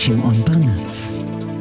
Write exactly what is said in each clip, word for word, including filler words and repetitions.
שמעון פרנס.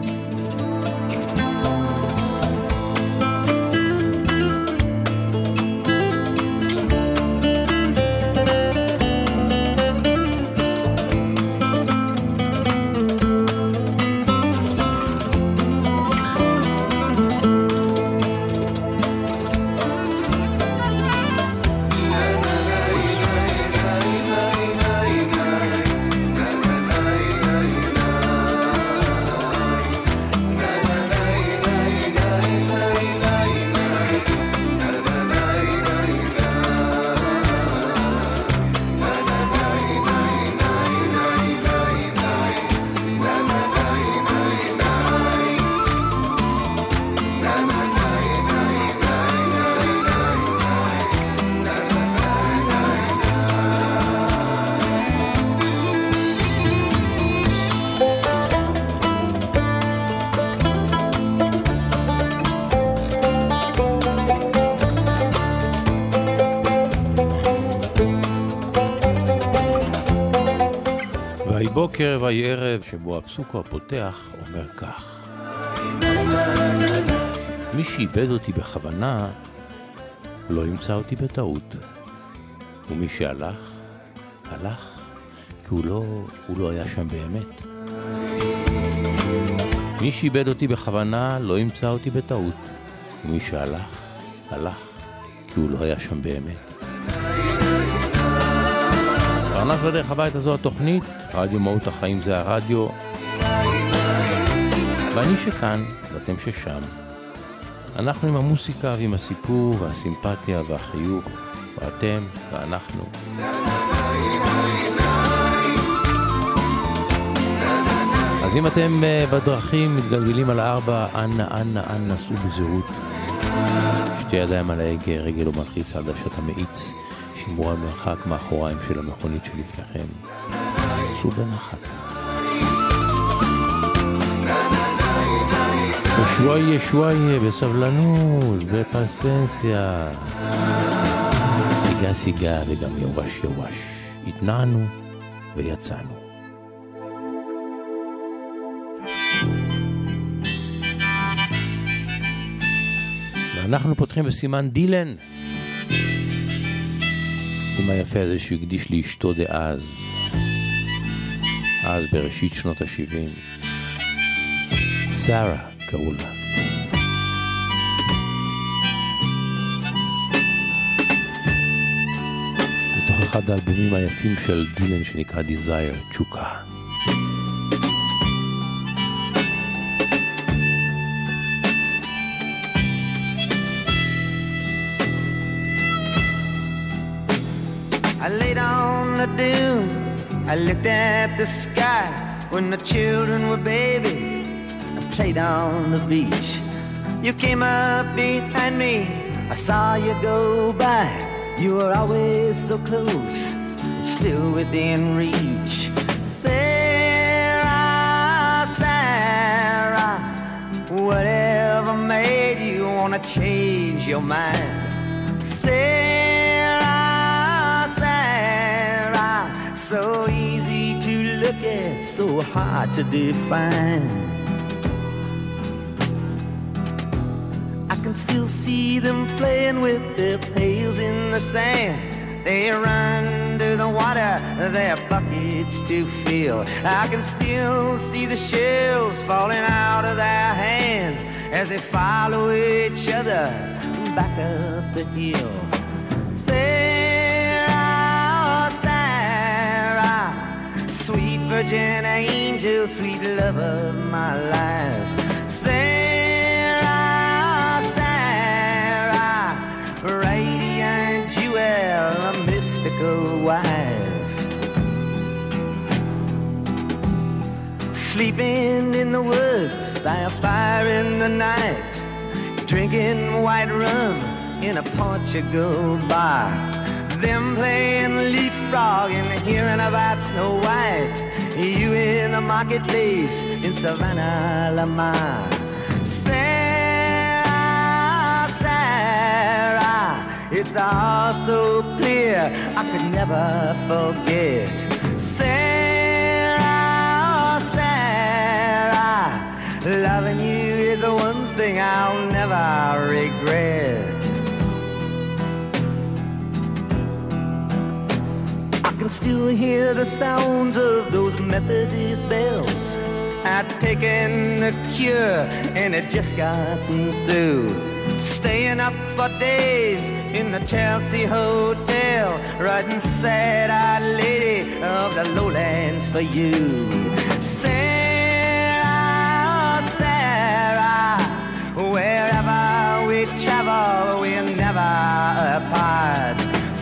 בוקר ויהי ערב שבו הפסוק הפותח אומר כך: מי שאיבד אותי בכוונה לא ימצא אותי בטעות, ומי שהלך הלך כי הוא לא, הוא לא היה שם באמת. מי שאיבד אותי בכוונה לא ימצא אותי בטעות, ומי שהלך הלך כי הוא לא היה שם באמת. פרנס בדרך הביתה, זו התוכנית, רדיו מהות החיים זה הרדיו, ואני שכאן ואתם ששם. אנחנו עם המוסיקה ועם הסיפור והסימפתיה והחיוך, ואתם ואנחנו. אז אם אתם בדרכים מתגלגלים על הארבע, אנא אנא אנא סעו בזהירות, שתי ידיים על ההגה, רגל או מלחיץ על דוושת המאיץ, שמרו על מרחק מאחוריים של המכונית שלפניכם. סעו בנחת. שוואיה שוואיה, בסבלנות, בפסנסיה. סיגה סיגה וגם יווש יווש. התנענו ויצאנו. ואנחנו פותחים בסימן דילן. עם היפה הזה שהוא הקדיש לאשתו דאז, אז בראשית שנות ה-שבעים. שרה קראו לה. בתוך אחד האלבומים היפים של דילן שנקרא Desire, תשוקה. I laid on the dune, I looked at the sky when the children were babies. I played on the beach. You came up behind me, I saw you go by. You were always so close, still within reach. Sarah, Sarah, whatever made you wanna change your mind? Sarah, so easy to look at, so hard to define. I can still see them playing with their pails in the sand. They run to the water, their buckets to fill. I can still see the shells falling out of their hands as they follow each other back up the hill. Sweet virgin angel, sweet love of my life. Sarah, Sarah, radiant jewel, a mystical wife. Sleeping in the woods by a fire in the night, drinking white rum in a Portugal bar. Them playing leapfrog and hearing about Snow White. You in the marketplace in Savannah, Lamar. Sarah, Sarah, it's all so clear I could never forget. Sarah, Sarah, Loving you is the one thing I'll never regret. I can still hear the sounds of those Methodist bells. I'd taken the cure and it just gotten through. Staying up for days in the Chelsea Hotel, writing sad-eyed lady of the lowlands for you. Sarah, Sarah, wherever we travel, we're never apart.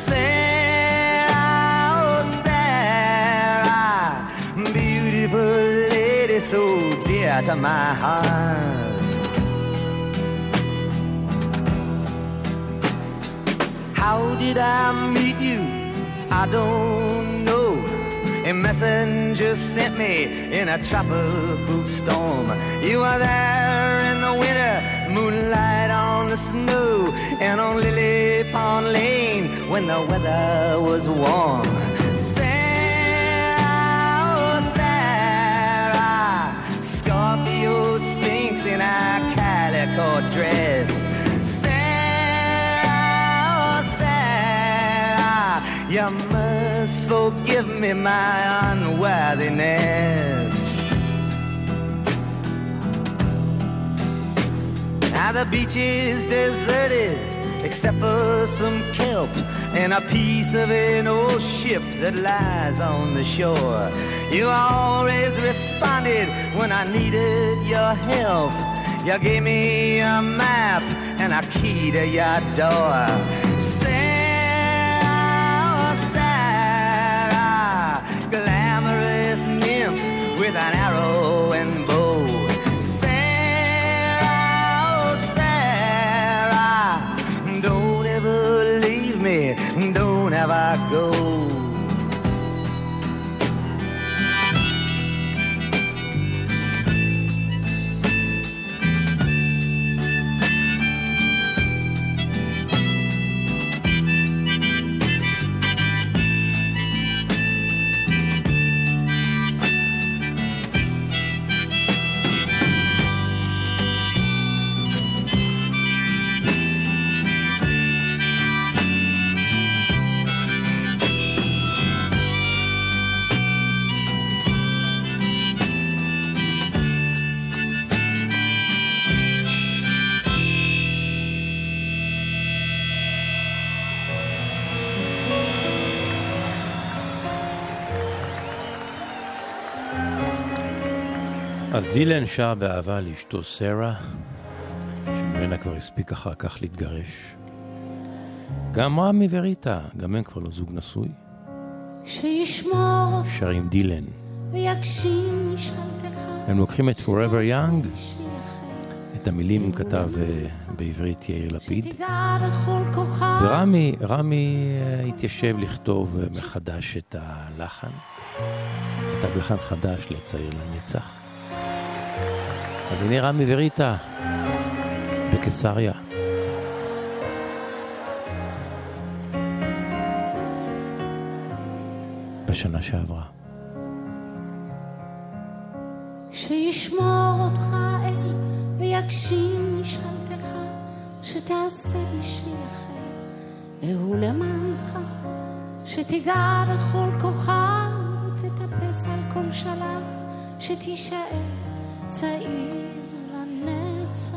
Sarah, oh Sarah, beautiful lady, so dear to my heart. How did I meet you? I don't know. A messenger sent me in a tropical storm. You were there in the winter, moonlight on the snow, and on Lily Pond Lane when the weather was warm. Sarah, oh Sarah, Scorpio Sphinx in a calico dress. You must forgive me my unworthiness. Now the beach is deserted except for some kelp and a piece of an old ship that lies on the shore. You always responded when I needed your help. You gave me a map and a key to your door. Glamorous nymph with an arrow and bow. Sarah, oh Sarah, don't ever leave me, don't ever go. אז דילן שר באהבה לאשתו סרה, שממנה כבר הספיק אחר כך להתגרש. גם רמי וריטה, גם הם כבר לא זוג נשוי. שישמור שרים דילן. ויגשים משאלתך. הם לוקחים את Forever Young, את המילים כתב בעברית יאיר לפיד. ורמי, רמי התיישב לכתוב מחדש את הלחן. כתב לחן חדש לצעיר לנצח. אז הנה רמי וריטה בקיסריה. בשנה שעברה. שישמור אותך אל ויגשים משאלתך, שתעשה בשבילך והוא למענך, שתיגע בכל כוחה ותטפס על כל שלב, שתישאר צעיר לנצח.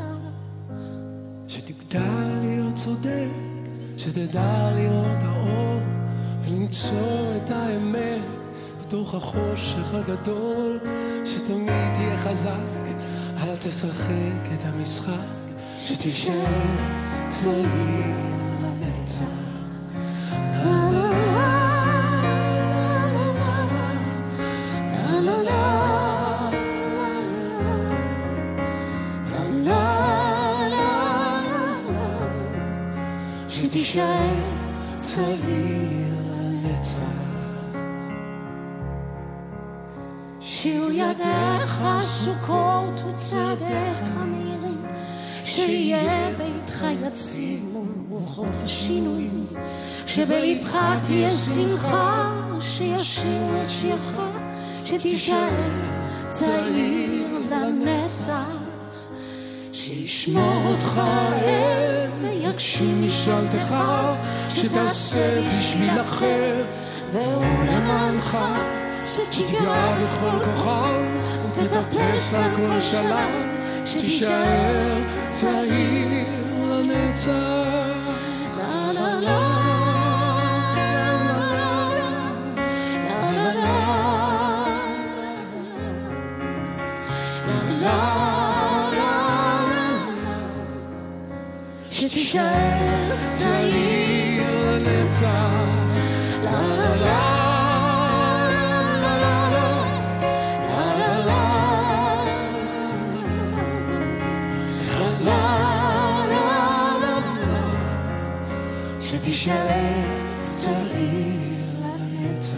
שתגדל להיות צודק, שתדע להיות האור ולמצוא את האמת בתוך החושך הגדול, שתמיד תהיה חזק, אל תשחק את המשחק, שתישאר צעיר לנצח. לה לה לה לה לה לה לה לה, שתישאר צעיר לנצח. שיהיו ידיך סוכות וצעדיך מהירים, שיהיה ביתך יציב מול רוחות השינויים, שבלבך תהיה שמחה, שישיר את שירך, שתישאר צעיר לנצח, שישמור אותך אל ויגשים משאלתך, שתעשה בשביל אחר ולמענך, שתיגע בכל כוחם ותטפס על כל שלב, שתישאר צעיר לנצח. לה לה לה שתישאר צעיר לנצח. לה לה לה שתישאר צעיר לנצח.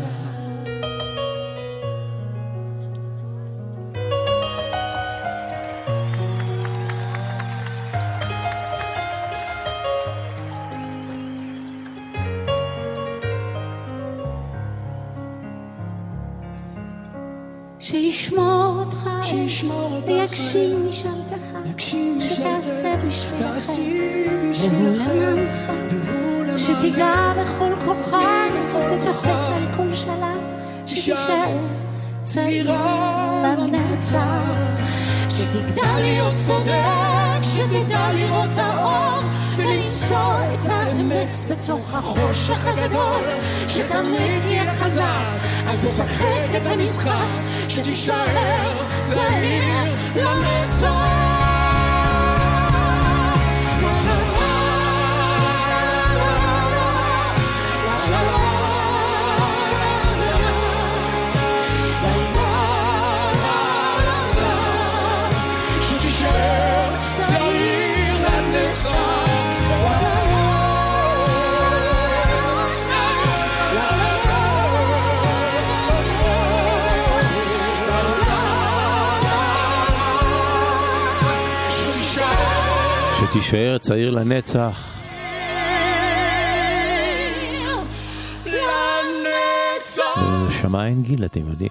שישמור אותך ויגשים משאלתך, יגשים שתעשה בשבילך בשבילך ולמענך, שתיגע בכל כוחן ותטפס על כל שלב, שתישאר צעיר לנצח, שתגדל להיות צודק, שתדע לראות האור ולמצוא את האמת בתוך החושך הגדול, שתמיד תהיה חזק, אל תשחק את המשחק, שתישאר צעיר לנצח. שתישאר צעיר לנצח. שמע אין גיל, אתם יודעים.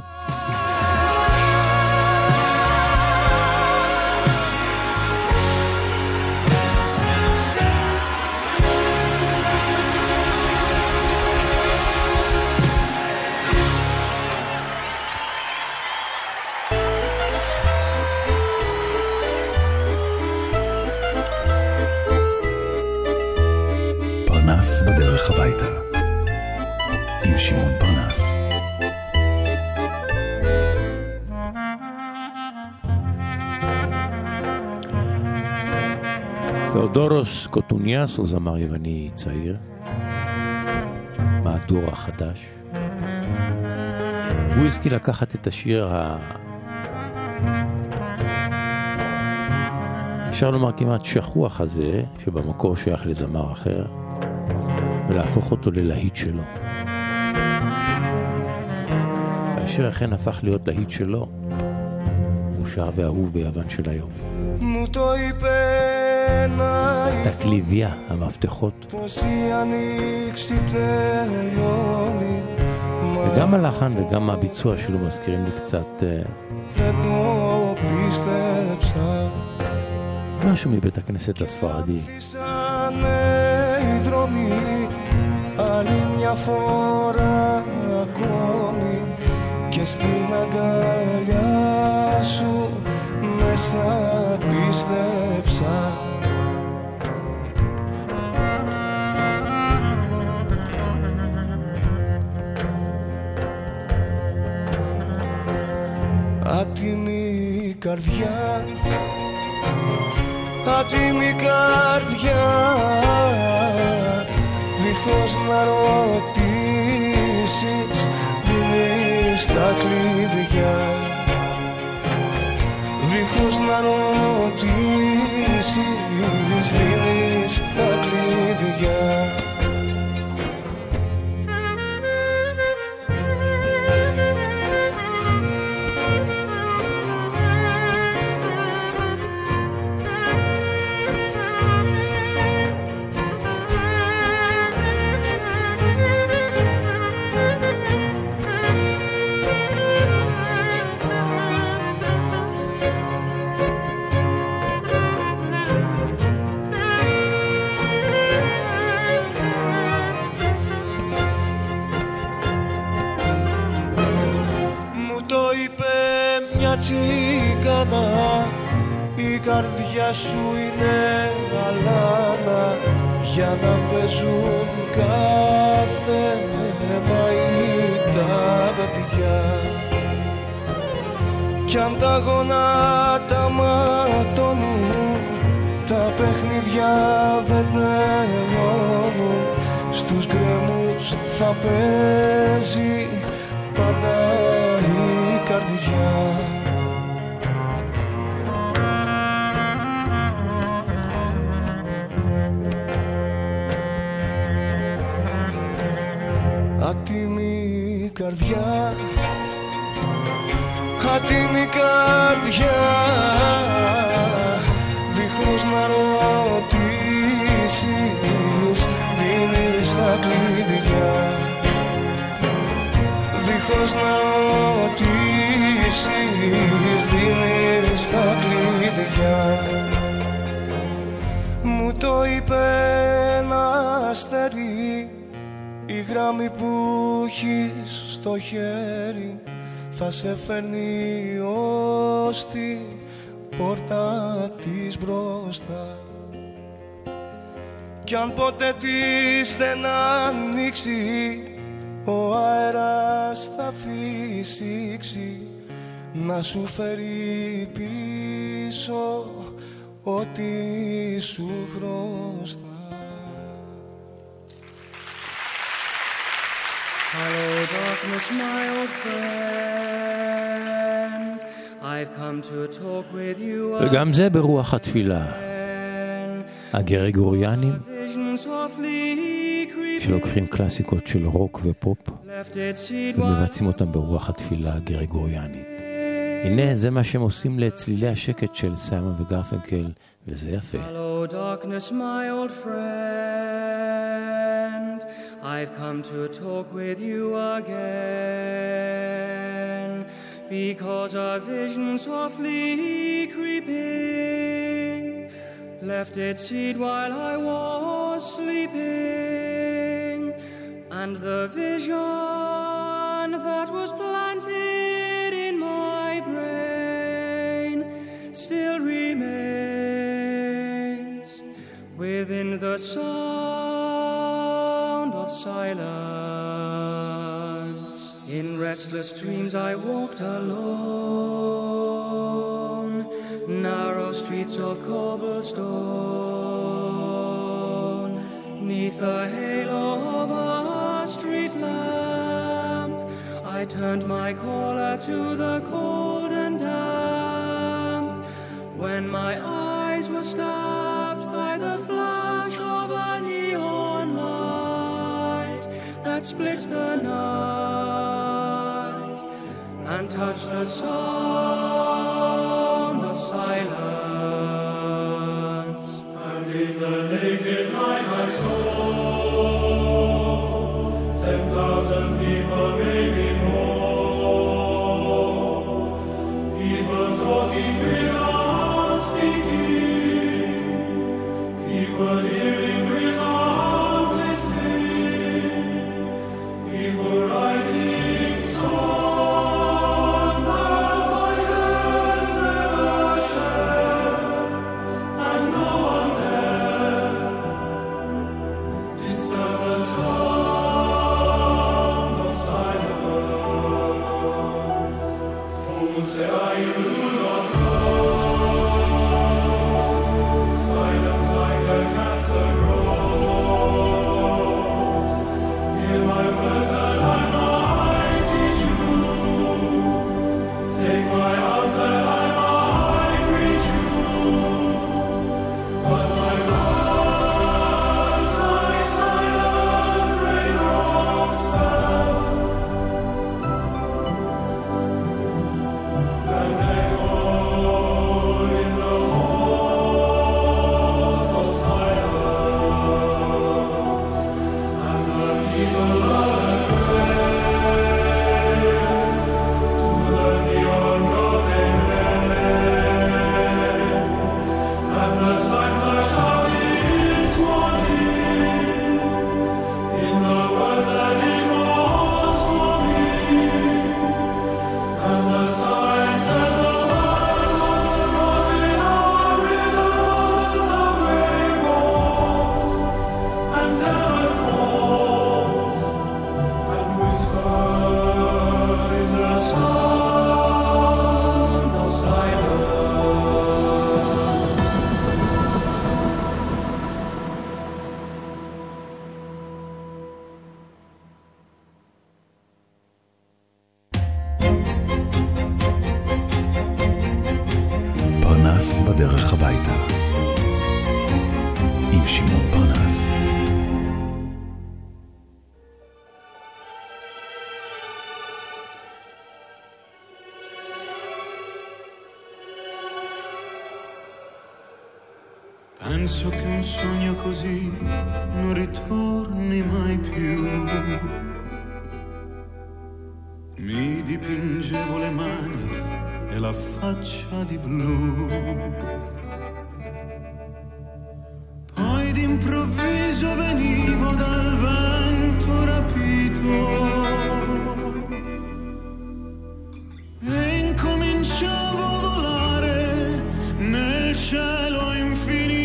פרנס בדרך הביתה עם שמעון פרנס. תאודורוס קוטוניאס הוא זמר יווני צעיר מהדור החדש. הוא השכיל לקחת את השיר ה... אפשר לומר כמעט שכוח הזה, שבמקור שייך לזמר אחר, ולהפוך אותו ללהיט שלו. והשיר אכן הפך להיות להיט שלו, מושר ואהוב ביוון של היום. תקלידיה, המפתחות. וגם הלחן וגם הביצוע שלו מזכירים לי קצת משהו מבית הכנסת הספרדי. Άλλη μια φορά ακόμη και στην αγκαλιά σου μέσα πίστεψα. Άτιμη καρδιά, άτιμη καρδιά, δίχως να ρωτήσεις δίνεις τα κλειδιά, δίχως να ρωτήσεις δίνεις τα κλειδιά. τσίκανα, η καρδιά σου είναι αλάνα για να παίζουν κάθε μαΐ τα παιδιά. Κι αν τα γονάτα ματώνουν, τα παιχνίδια δεν τελειώνουν, στους γκρέμους θα παίζει πάντα η καρδιά. Άτιμη καρδιά, άτιμη καρδιά, δίχως να ρωτήσεις δίνεις τα κλειδιά. Δίχως να ρωτήσεις δίνεις τα κλειδιά. Μου το είπε ένα αστέρι, η γράμμη που έχεις στο χέρι θα σε φέρνει ως την πόρτα της μπροστά. Κι αν ποτέ της δεν ανοίξει, ο αέρας θα φυσήξει να σου φέρει πίσω ό,τι σου χρωστά. Hello, darkness, my old friend. I've come to talk with you. וגם זה ברוח התפילה. הגרגוריאנים שלוקחים קלאסיקות של רוק ופופ ומבצעים אותם ברוח התפילה הגרגוריאנית. הנה זה מה שהם עושים לצלילי השקט של סיימון וגרפנקל, וזה יפה. Hello, darkness, my old friend. I've come to talk with you again, because a vision softly creeping left its seed while I was sleeping, and the vision that was planted in my brain still remains within the sound of silence. In restless dreams I walked alone, narrow streets of cobblestone, neath the halo of a street lamp. I turned my caller to the cold and damp, when my eyes were stabbed by the flash of a neon light that split the night and touched the sound of silence. And in the naked night I saw ten thousand people, maybe more, people talking without speaking, people hearing without listening, people writing songs of voices never shared. פנס בדרך הביתה. עם שמעון פרנס. Penso che un sogno così non ritorni mai più. Mi dipingevo le mani e la faccia di blu. Poi d'improvviso venivo dal vento rapito e incominciavo a volare nel cielo infinito.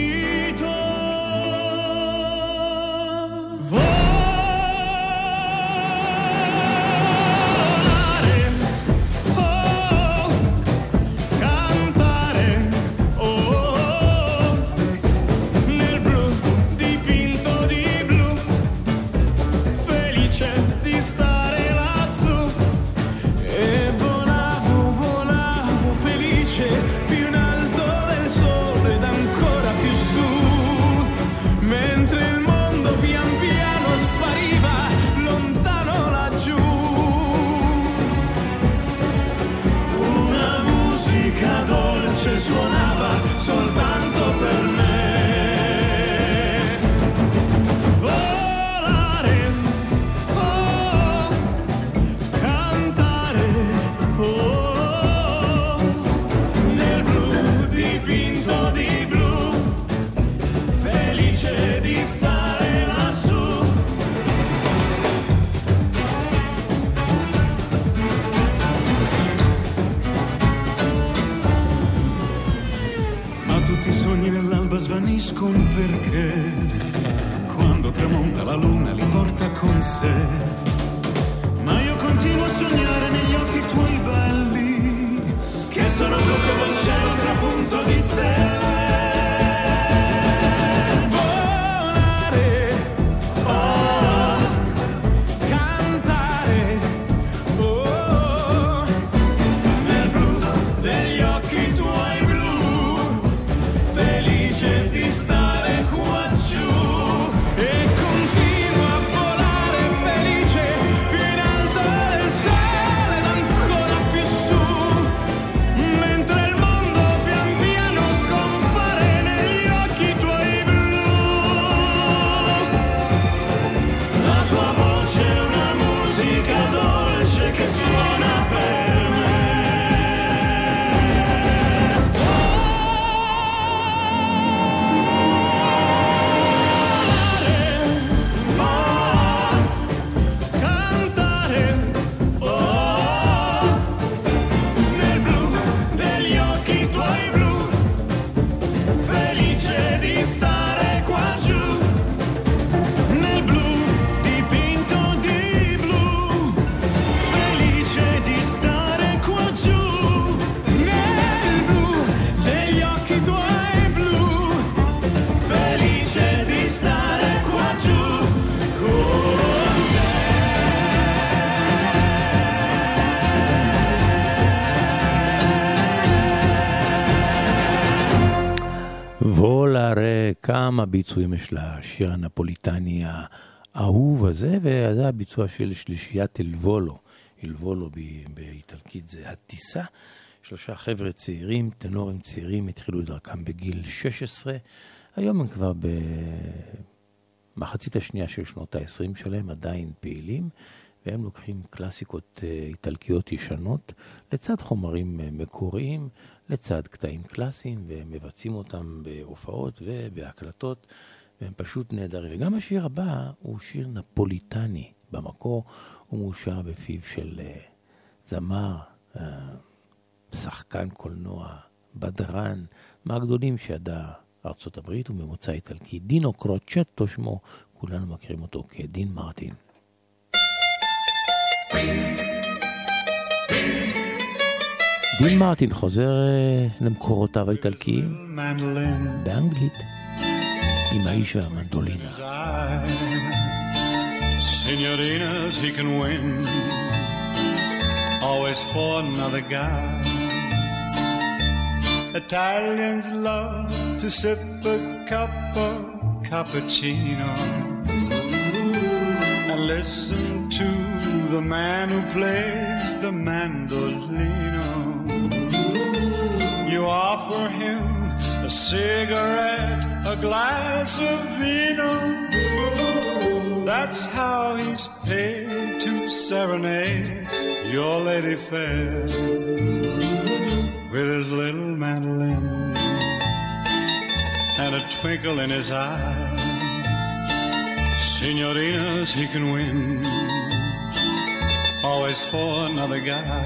Suonava soltanto per me. Volare, oh, cantare, oh, nel blu dipinto di blu, felice di stare lassù. I sogni nell'alba svaniscono perché quando tramonta la luna li porta con sé. Ma io continuo a sognare negli occhi tuoi belli, che sono blu come il cielo trapunto di stelle. Volare, oh, cantare, oh, nel blu degli occhi tuoi blu, felice di stare qua giù e continuo a volare felice più in alto del sole ed ancora più su, mentre il mondo pian piano scompare negli occhi tuoi blu. La tua voce è una musica dolce che suona per me. וולארה, כמה ביצועים יש לשיר הנפוליטני האהוב הזה, וזה הביצוע של שלישיית אלבולו. אלבולו באיטלקית זה הטיסה. שלושה חבר'ה צעירים, טנורים צעירים, התחילו את דרכם בגיל שש עשרה. היום הם כבר במחצית השנייה של שנות ה-עשרים שלהם, עדיין פעילים, והם לוקחים קלאסיקות איטלקיות ישנות, לצד חומרים מקוריים, לצד קטעים קלאסיים, והם מבצעים אותם בהופעות ובהקלטות, והם פשוט נהדרים. וגם השיר הבא הוא שיר נפוליטני, במקור הוא מאושר בפיו של זמר, שחקן קולנוע, בדרן, מהגדולים שידע ארצות הברית וממוצא איטלקי, דינו קרוצ'טו שמו, כולנו מכירים אותו כדין מרטין. דין מרטין חוזר למקורותיו האיטלקיים באנגלית עם האיש והמנדולינה. Signorinas he can win, always for another guy. Italians love to sip a cup of cappuccino and listen to the man who plays the mandolino. You offer him a cigarette, a glass of vino. That's how he's paid to serenade your lady fair with his little mandolin and a twinkle in his eye. Signorinas he can win, always for another guy.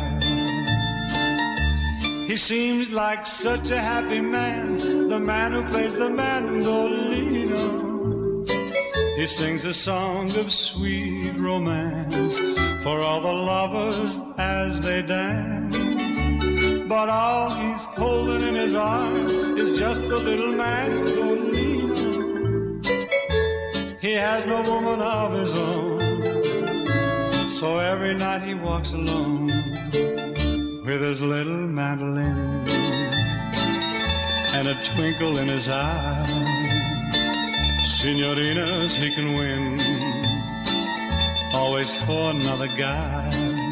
He seems like such a happy man, the man who plays the mandolino. He sings a song of sweet romance for all the lovers as they dance. But all he's holding in his arms is just a little mandolino. He has no woman of his own, so every night he walks alone with his little mandolin and a twinkle in his eye. Signorinas he can win, always for another guy.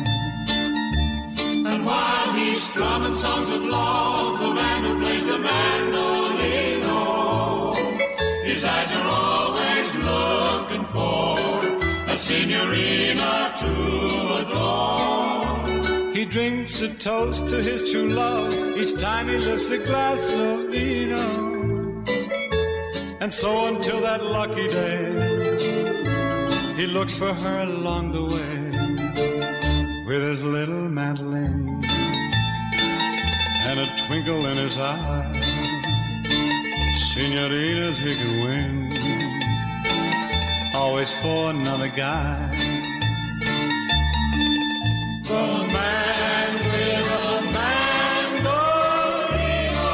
And while he's strumming songs of love, the man who plays the mandolino, his eyes are always looking for a signorina to adore. He drinks a toast to his true love each time he lifts a glass of vino. And so until that lucky day, he looks for her along the way with his little mandolin and a twinkle in his eye. Signorinas he can win, always for another guy. The man with a mandolino.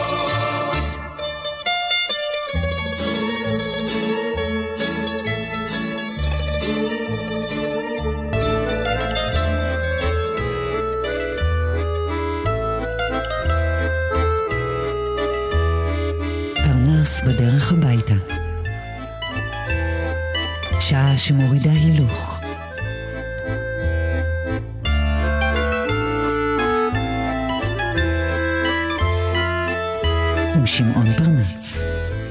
פרנס בדרך הביתה, שעה שמורידה הילוך. עם שמעון פרנס.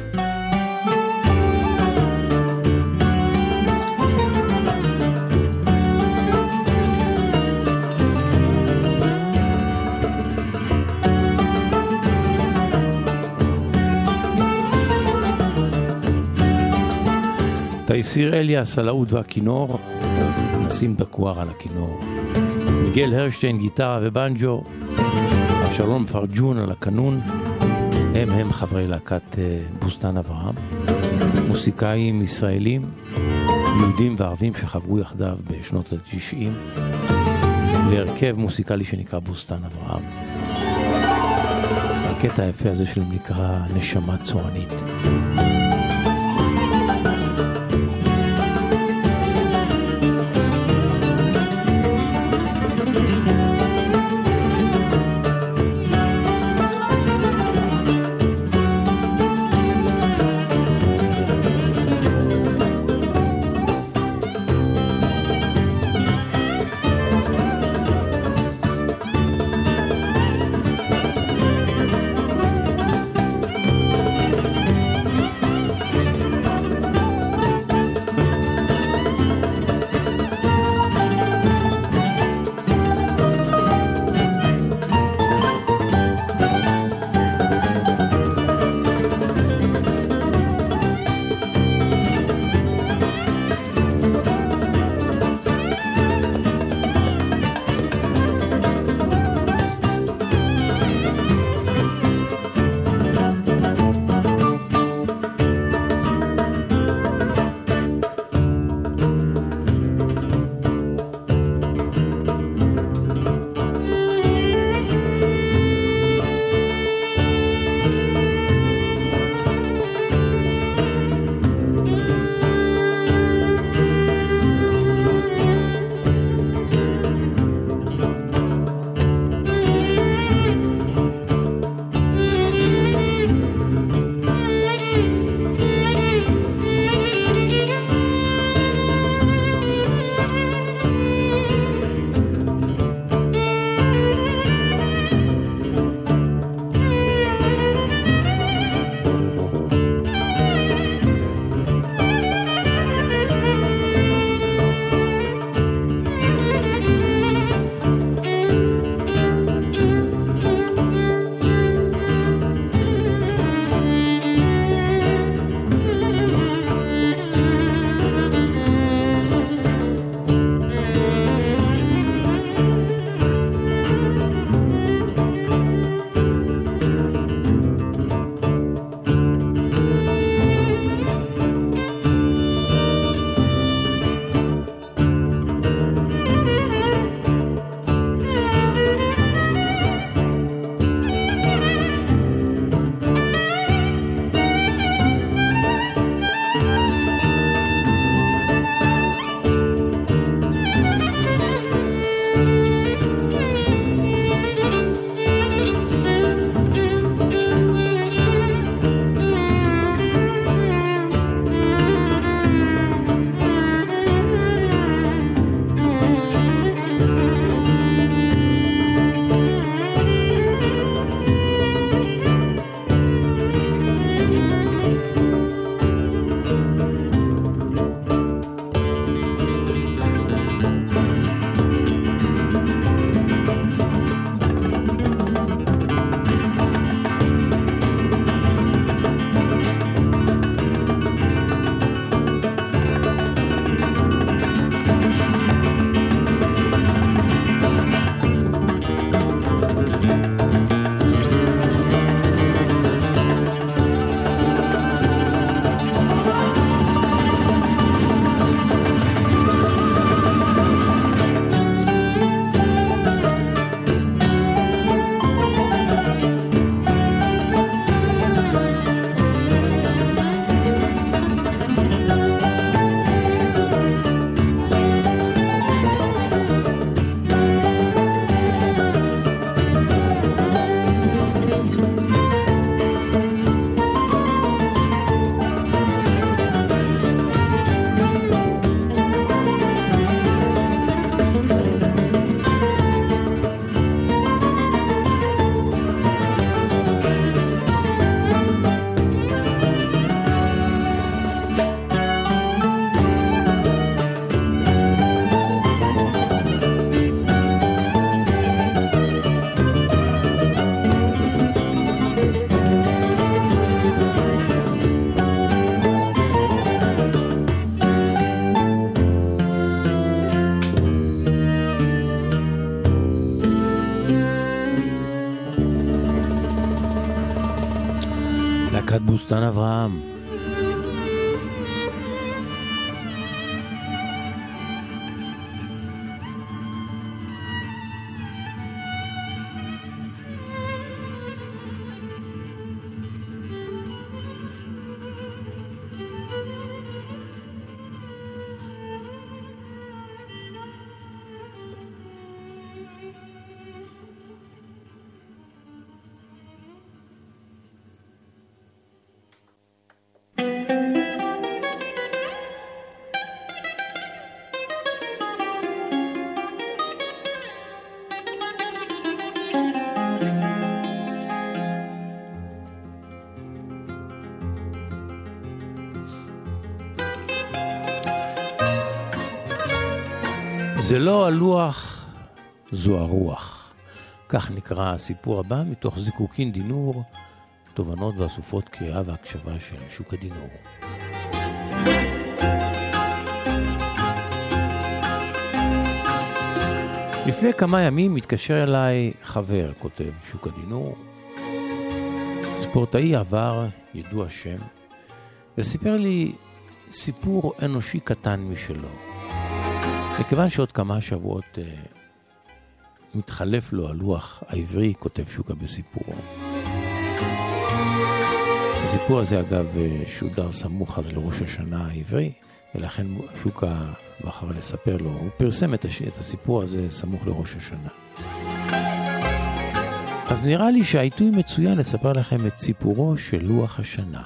תייסיר אליאס על העוד והכינור, נשים דקואר על הכינור, מיגל הרשטיין גיטרה ובנג'ו, אבשלום פרג'ון על הקנון. הם הם חברי להקת בוסתן אברהם, מוסיקאים ישראלים, יהודים וערבים שחברו יחדיו בשנות ה-תשעים להרכב מוסיקלי שנקרא בוסתן אברהם. הקטע היפה הזה שלהם נקרא נשמה צורנית. בוסתן אברהם. זה לא הלוח, זו הרוח. כך נקרא הסיפור הבא מתוך זיקוקין דינור, תובנות ואסופות קריאה והקשבה של שוקה דינור. לפני כמה ימים מתקשר אליי חבר, כותב שוקה דינור, ספורטאי עבר, ידוע שם, וסיפר לי סיפור אנושי קטן משלו. וכיוון שעוד כמה שבועות uh, מתחלף לו הלוח העברי, כותב שוקה בסיפורו. הסיפור הזה אגב שודר סמוך אז לראש השנה העברי, ולכן שוקה בחר לספר לו, הוא פרסם את, הש... את הסיפור הזה סמוך לראש השנה. אז נראה לי שהעיתוי מצוין לספר לכם את סיפורו של לוח השנה.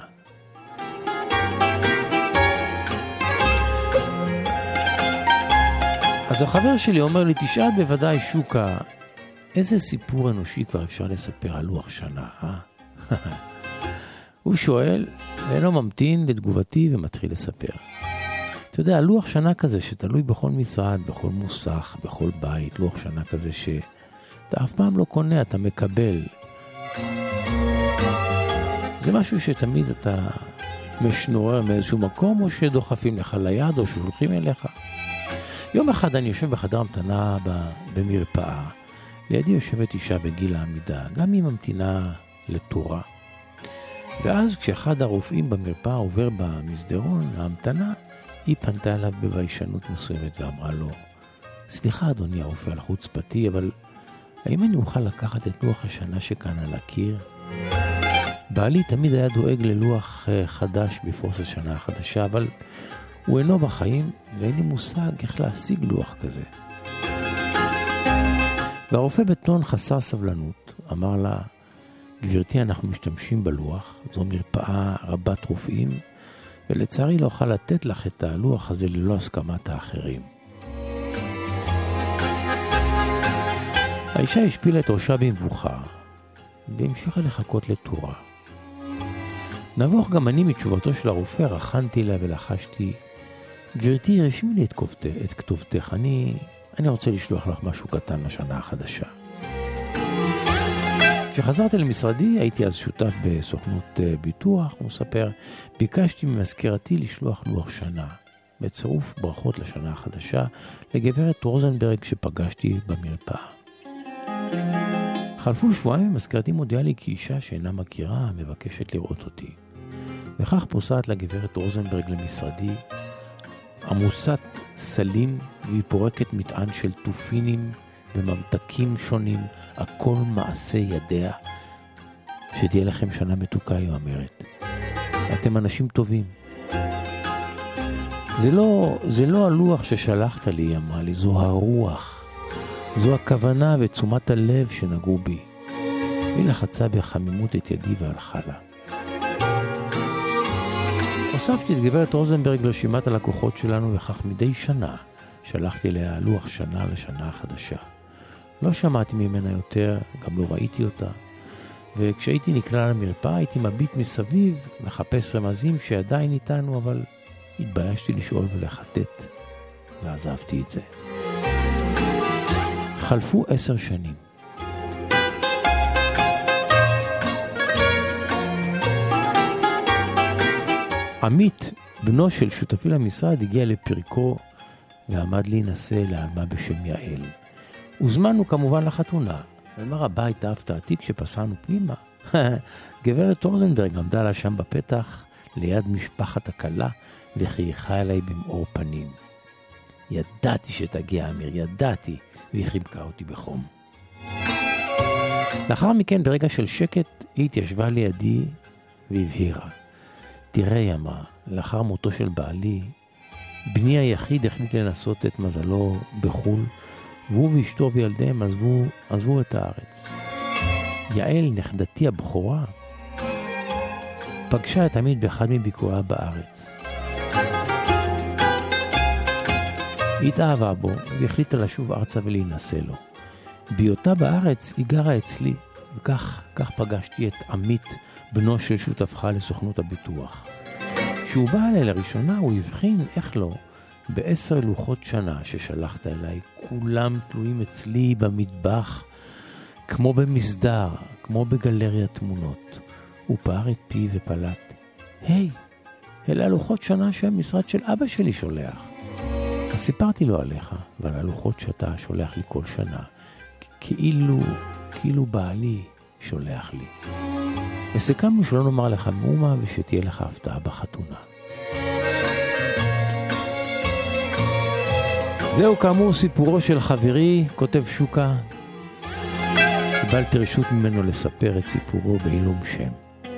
אז החבר שלי אומר לי, תשאל בוודאי שוקה, איזה סיפור אנושי כבר אפשר לספר על לוח שנה, אה? הוא שואל, ואינו ממתין לתגובתי ומתחיל לספר. אתה יודע, לוח שנה כזה שתלוי בכל משרד, בכל מוסך, בכל בית, לוח שנה כזה שאתה אף פעם לא קונה, אתה מקבל. זה משהו שתמיד אתה משנורר מאיזשהו מקום, או שדוחפים לך ליד, או ששולחים אליך. יום אחד אני יושב בחדר המתנה במרפאה. לידי יושבת אישה בגיל העמידה, גם היא ממתינה לתורה. ואז כשאחד הרופאים במרפאה עובר במסדרון, ההמתנה, היא פנתה אליו בביישנות מסוימת ואמרה לו, סליחה אדוני הרופא על חוצפתי, אבל האם אני אוכל לקחת את לוח השנה שכאן על הקיר? בעלי תמיד היה דואג ללוח חדש בפרוס השנה החדשה, אבל הוא אינו בחיים ואין לי מושג איך להשיג לוח כזה. והרופא בטון חסר סבלנות אמר לה, גברתי, אנחנו משתמשים בלוח, זו מרפאה רבת רופאים, ולצערי לא אוכל לתת לך את הלוח הזה ללא הסכמת האחרים. האישה השפילה את ראשה במבוכה, והמשיכה לחכות לתורה. נבוך גם אני מתשובתו של הרופא, רחנתי לה ולחשתי, גברתי, רשמי לי את כתובתך, את כתובתך. אני, אני רוצה לשלוח לך משהו קטן לשנה החדשה. כשחזרתי למשרדי, הייתי אז שותף בסוכנות ביטוח, הוא מספר, ביקשתי ממזכירתי לשלוח לוח שנה, בצירוף ברכות לשנה החדשה, לגברת רוזנברג שפגשתי במרפאה. חלפו שבועיים ומזכירתי מודיעה לי כי אישה שאינה מכירה מבקשת לראות אותי. וכך פוסעת לגברת רוזנברג למשרדי, עמוסת סלים, והיא פורקת מטען של תופינים וממתקים שונים, הכל מעשה ידיה. שתהיה לכם שנה מתוקה, היא אומרת. אתם אנשים טובים. זה לא, זה לא הלוח ששלחת לי, היא אמרה לי, זו הרוח. זו הכוונה ותשומת הלב שנגעו בי. והיא לחצה בחמימות את ידי והלכה לה. הוספתי את גברת רוזנברג לרשימת הלקוחות שלנו, וכך מדי שנה שלחתי לה לוח שנה לשנה החדשה. לא שמעתי ממנה יותר, גם לא ראיתי אותה, וכשהייתי נקרא למרפאה הייתי מביט מסביב, מחפש רמזים שעדיין איתנו, אבל התביישתי לשאול ולחטט, ועזבתי את זה. חלפו עשר שנים. עמית, בנו של שותפי למשרד, הגיע לפרקו ועמד להינשא לאלמה בשם יעל. הוזמנו כמובן לחתונה. ואמר הבית ההפתעתי כשפסענו פנימה, גברת רוזנברג עמדה לה שם בפתח, ליד משפחת הכלה, וחייכה אליי במאור פנים. ידעתי שתגיע אמיר, ידעתי, והיא חיבקה אותי בחום. לאחר מכן, ברגע של שקט, היא התיישבה לידי והבהירה. תראה, היא אמרה, לאחר מותו של בעלי, בני היחיד החליט לנסות את מזלו בחול, והוא ואשתו וילדיהם עזבו, עזבו את הארץ. יעל, נכדתי הבכורה, פגשה את עמית באחד מביקוריה בארץ. היא התאהבה בו והחליטה לשוב ארצה ולהינשא לו. בהיותה בארץ היא גרה אצלי, וכך כך פגשתי את עמית, בנו של שותפך לסוכנות הביטוח. כשהוא בא אליי לראשונה הוא הבחין, איך לא, בעשר לוחות שנה ששלחת אליי, כולם תלויים אצלי במטבח, כמו במסדר, כמו בגלריה תמונות. הוא פער את פי ופלט. היי, אלה הלוחות שנה שהמשרד של אבא שלי שולח. אז סיפרתי לו עליך, ועל הלוחות שאתה שולח לי כל שנה, כאילו, כאילו בעלי שולח לי. וסיכמנו שלא נאמר לך מאומה ושתהיה לך הפתעה בחתונה. זהו כאמור סיפורו של חברי, כותב שוקה. קיבלתי רשות ממנו לספר את סיפורו בעילום שם.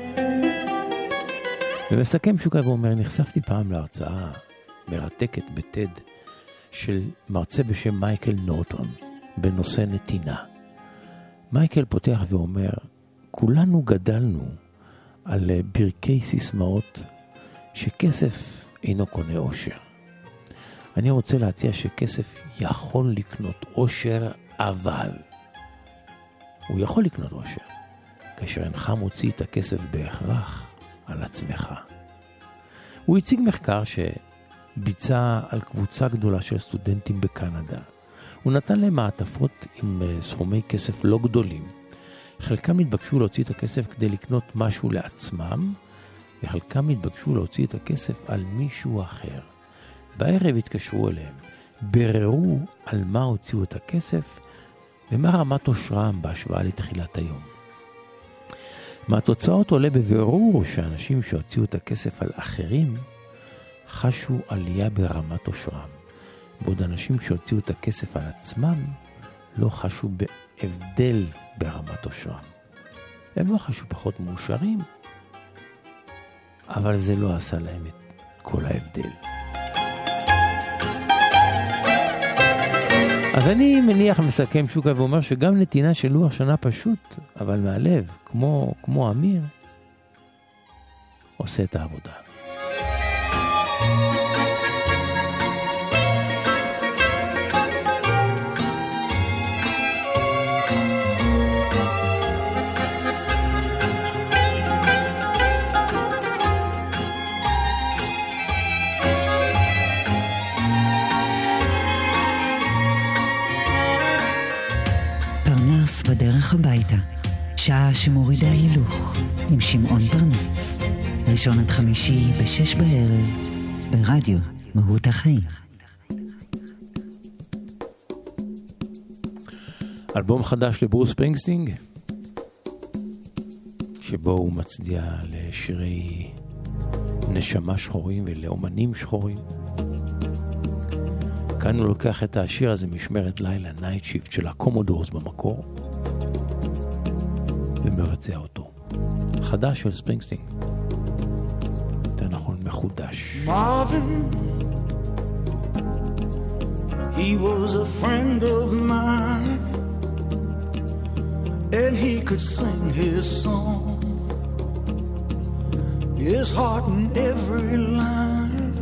ומסכם שוקה ואומר, נחשפתי פעם להרצאה מרתקת בטד של מרצה בשם מייקל נורטון בנושא נתינה. מייקל פותח ואומר, כולנו גדלנו על ברכי סיסמאות שכסף אינו קונה אושר. אני רוצה להציע שכסף יכול לקנות אושר, אבל הוא יכול לקנות אושר כאשר אינך מוציא את הכסף בהכרח על עצמך. הוא הציג מחקר שביצע על קבוצה גדולה של סטודנטים בקנדה. הוא נתן להם מעטפות עם סכומי כסף לא גדולים. חלקם התבקשו להוציא את הכסף כדי לקנות משהו לעצמם, וחלקם התבקשו להוציא את הכסף על מישהו אחר. בערב התקשרו אליהם, בררו על מה הוציאו את הכסף, ומה רמת אושרם בהשוואה לתחילת היום. מהתוצאות עולה בבירור שאנשים שהוציאו את הכסף על אחרים, חשו עלייה ברמת אושרם, בעוד אנשים שהוציאו את הכסף על עצמם, לא חשו בהבדל ברמת אושרם. הם לא חשו פחות מאושרים, אבל זה לא עשה להם את כל ההבדל. אז אני מניח מסכם שוקה ואומר שגם נתינה של לוח שנה פשוט, אבל מהלב, כמו, כמו אמיר, עושה את העבודה. בדרך הביתה, שעה שמורידה הילוך, עם שמעון פרנס. ראשון עד חמישי בשש בערב, ברדיו מהות החיים. אלבום חדש לברוס ספרינגסטין, שבו הוא מצדיע לשירי נשמה שחורים ולאומנים שחורים. כאן הוא לוקח את השיר הזה משמרת לילה, נייט שיפט של הקומודורס במקור, ומבצע אותו. חדש של ספרינגסטין. יותר נכון, מחודש. Marvin, he was a friend of mine, and he could sing his song, his heart in every line.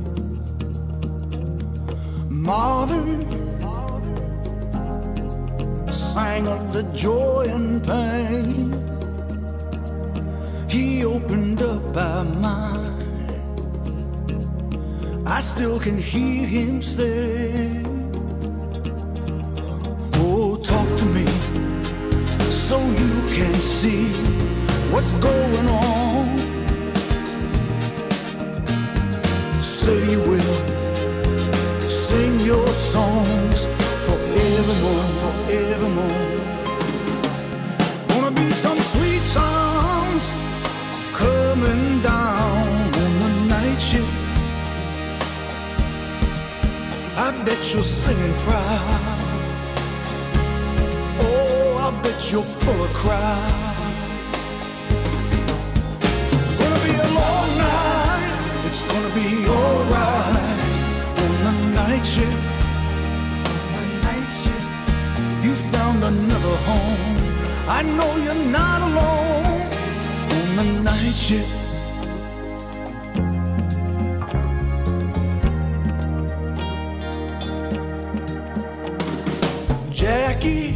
Marvin sang of the joy and pain. He opened up our mind. I still can hear him say, oh, talk to me so you can see what's going on. Say you will sing your songs forevermore, forevermore. Gonna be some sweet song I bet you're singing proud. Oh, I bet you're full of crowd. Gonna be a long night, it's gonna be alright. On the night shift, on the night shift, you found another home. I know you're not alone. On the night shift. Jackie,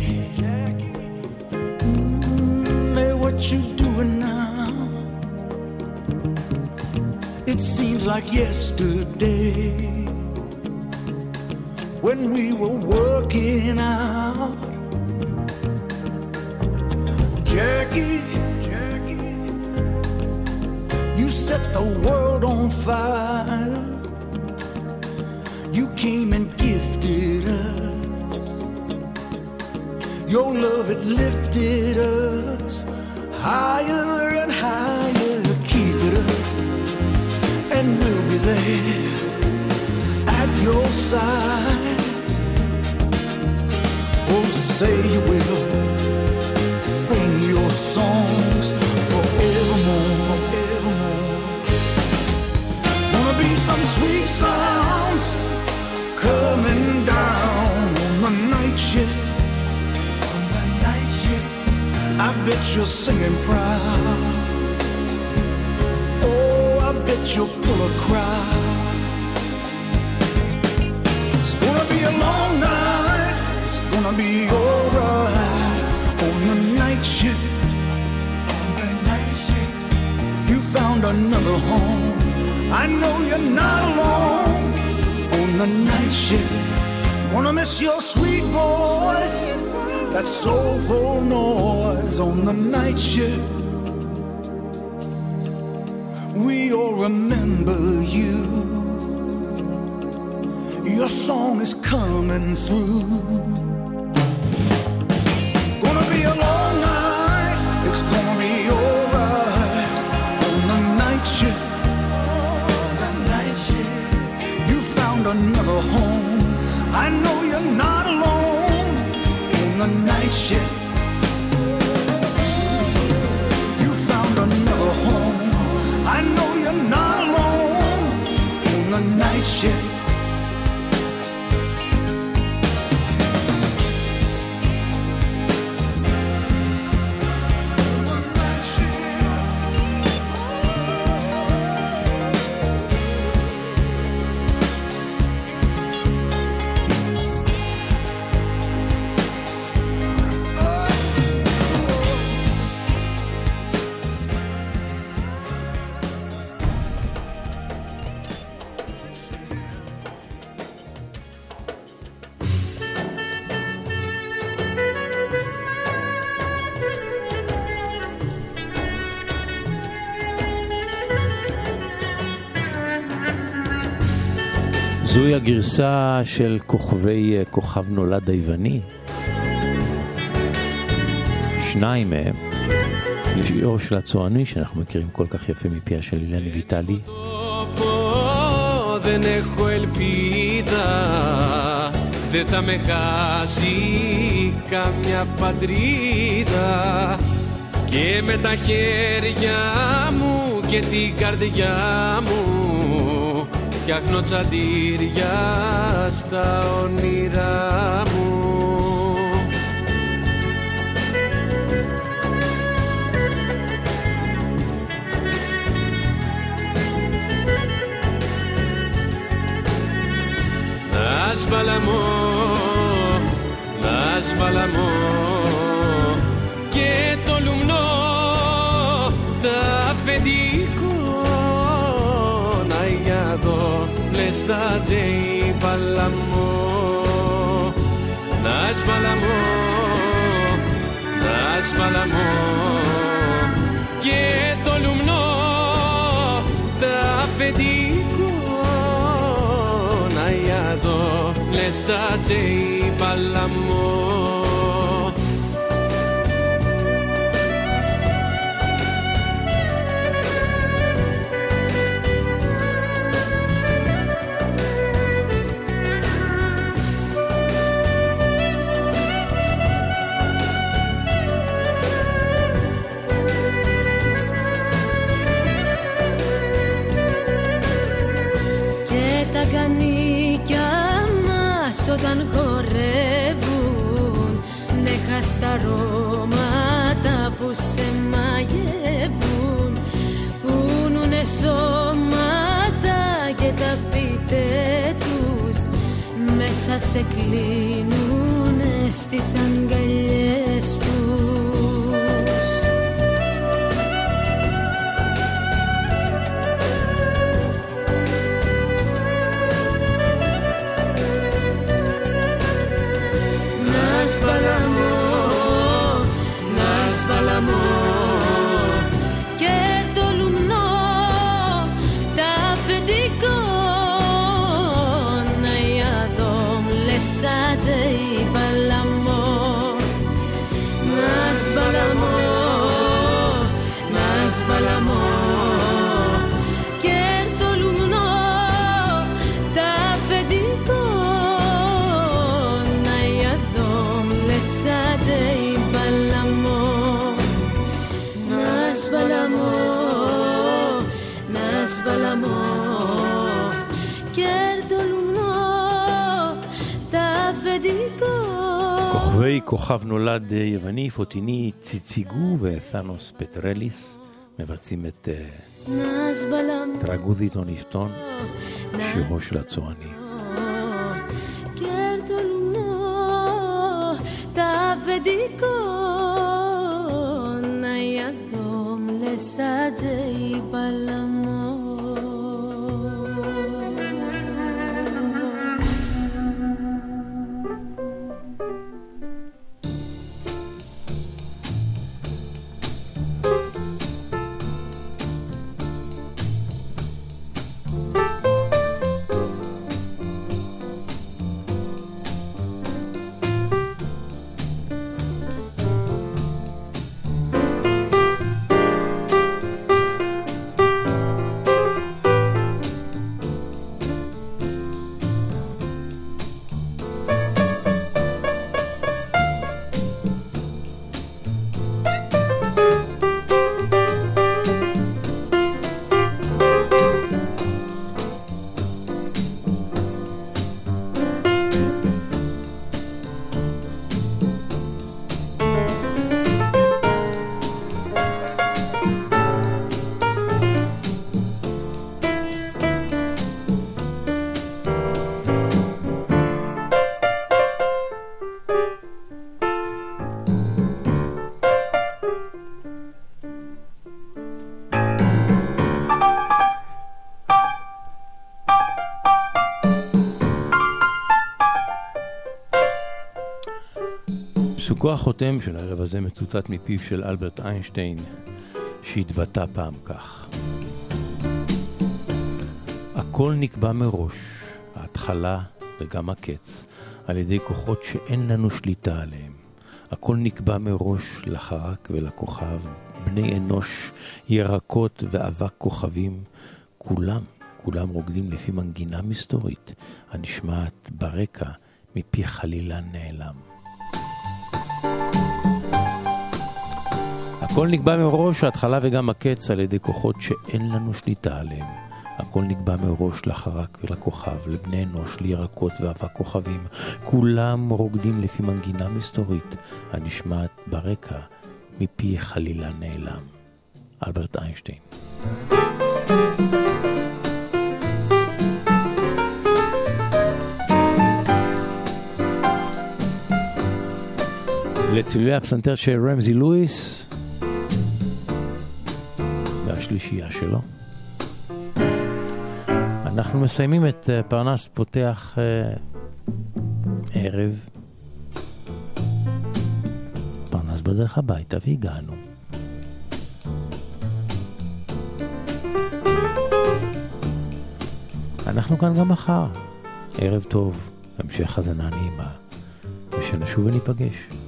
mm, hey, what you doing now? It seems like yesterday when we were working out. Jackie, Jackie, you set the world on fire. You came and gifted us. Your love, it lifted us higher and higher. Keep it up, and we'll be there at your side. Oh, say you will sing your songs forevermore. Wanna be some sweet sounds coming down on the night shift. I bet you're singing proud. Oh, I bet you'll pull a crowd. It's gonna be a long night, it's gonna be alright. On the night shift, on the night shift, you found another home. I know you're not alone. On the night shift, wanna miss your sweet voice, that soulful noise on the night shift. We all remember you. Your song is coming through. Gonna be a long night, it's gonna be alright. On the night shift, on the night shift, you found another home. I know you're not alone. The night shift, you found another home. I know you're not alone. On the night shift. זוהי הגרסה של כוכבי כוכב נולד היווני. שניים מהם לשיעור של הצועני שאנחנו מכירים כל כך יפה מפיה של אילני ויטלי. Δεν έχω ελπίδα, δεν θα με χάσει καμιά πατρίδα, και με τα χέρια μου και την καρδιά μου φτιάχνω τσαντήρια στα όνειρά μου. Να σβαλαμώ, να σβαλαμώ και το λουμνό τα αφεντικό να γιάδω λεσά τζέι παλαμό. Να σβαλαμώ, να σβαλαμώ και το λουμνό τα αφεντικό να γιάδω λεσά τζέι παλαμό. όταν χορεύουν, νέχα στα αρώματα που σε μαγεύουν, κουνούνε σώματα και τα πείτε τους, μέσα σε κλείνουνε στις αγκαλιές τους. Σβαλαμό, να σβαλαμό και το λουμνό τα αφεντικό να ιαδόμ λεσάτε η παλαμό. Να σβαλαμό, να σβαλαμό και το λουμνό τα αφεντικό Σάτε η παλαμό, να σβαλαμό, να σβαλαμό και το λουμνό τα αφεντικό. כוכבי כוכב נולד יווני, פוטיני ציציגו ות'אנוס פטרליס מבצעים את טרגודית או נפתון, שירו של הצועני. Τα αφεντικό να ιαδόμ λεσάτζε η παλαμό. פסוקו החותם של הערב הזה מצוטט מפיו של אלברט איינשטיין, שהתבטא פעם כך: הכל נקבע מראש, ההתחלה וגם הקץ, על ידי כוחות שאין לנו שליטה עליהם. הכל נקבע מראש לחרק ולכוכב, בני אנוש, ירקות ואבק כוכבים, כולם, כולם רוקדים לפי מנגינה מסתורית, הנשמעת ברקע מפי חלילה נעלם. הכל נקבע מראש, ההתחלה וגם הקץ, על ידי כוחות שאין לנו שליטה עליהם. הכל נקבע מראש לחרק ולכוכב, לבני אנוש, לירקות ואבק כוכבים. כולם רוקדים לפי מנגינה מסתורית, הנשמעת ברקע מפי חלילה נעלם. אלברט איינשטיין. לצלילי הפסנתר של רמזי לואיס והשלישייה שלו. אנחנו מסיימים את פרנס פותח ערב. פרנס בדרך הביתה והגענו. אנחנו כאן גם מחר. ערב טוב, המשך חזנה נעימה, ושנשוב וניפגש.